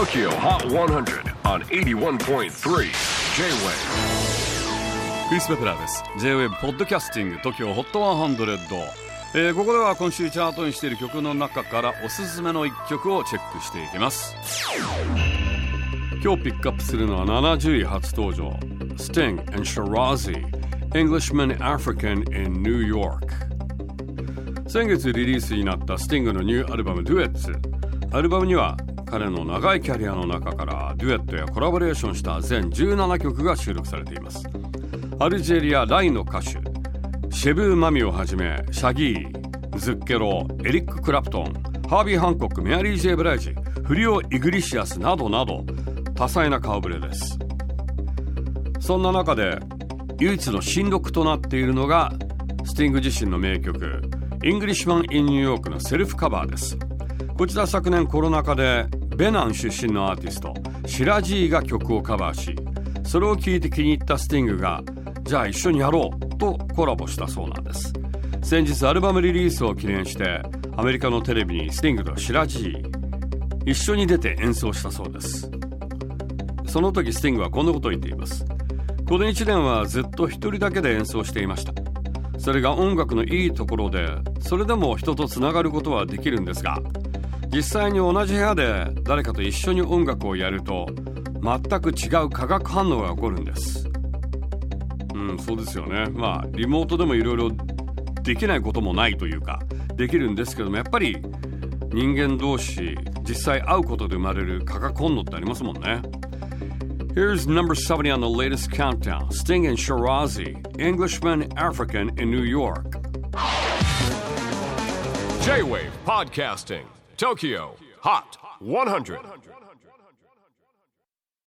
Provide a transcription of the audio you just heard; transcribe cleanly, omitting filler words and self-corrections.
TOKYO HOT 100 on 81.3 J-WAVE クリス・ベプラーです。 J-WAVE ポッドキャスティング TOKYO HOT 100、ここでは今週チャートにしている曲の中からおすすめの1曲をチェックしていきます。今日ピックアップするのは70位初登場 Sting and Shirazi Englishman African in New York。 先月リリースになったスティングのニューアルバム Duets。 アルバムには彼の長いキャリアの中からデュエットやコラボレーションした全17曲が収録されています。アルジェリア・ライの歌手シェブー・マミをはじめシャギー、ズッケロ、エリック・クラプトン、ハービー・ハンコック、メアリー・ジェイ・ブライジ、フリオ・イグリシアスなどなど多彩な顔ぶれです。そんな中で唯一の新録となっているのがスティング自身の名曲 Englishman in New York のセルフカバーです。こちら昨年コロナ禍でベナン出身のアーティストシラジーが曲をカバーし、それを聴いて気に入ったスティングがじゃあ一緒にやろうとコラボしたそうなんです。先日アルバムリリースを記念してアメリカのテレビにスティングとシラジー一緒に出て演奏したそうです。その時スティングはこんなことを言っています。この1年はずっと一人だけで演奏していました。それが音楽のいいところで、それでも人とつながることはできるんですが、実際に同じ部屋で誰かと一緒に音楽をやると全く違う化学反応が起こるんです。そうですよね。リモートでもいろいろできないこともないというかできるんですけども、やっぱり人間同士実際会うことで生まれる化学反応ってありますもんね。Here's number 70 on the latest countdown. Sting and Shirazi, Englishman African in New York. J-WAVE PODCASTING TOKYO HOT 100